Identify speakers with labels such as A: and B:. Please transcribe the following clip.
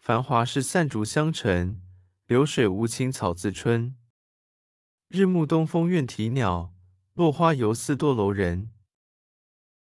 A: 繁華事散逐香塵，流水無情草自春。日暮東風怨啼鳥，落花猶似墮樓人。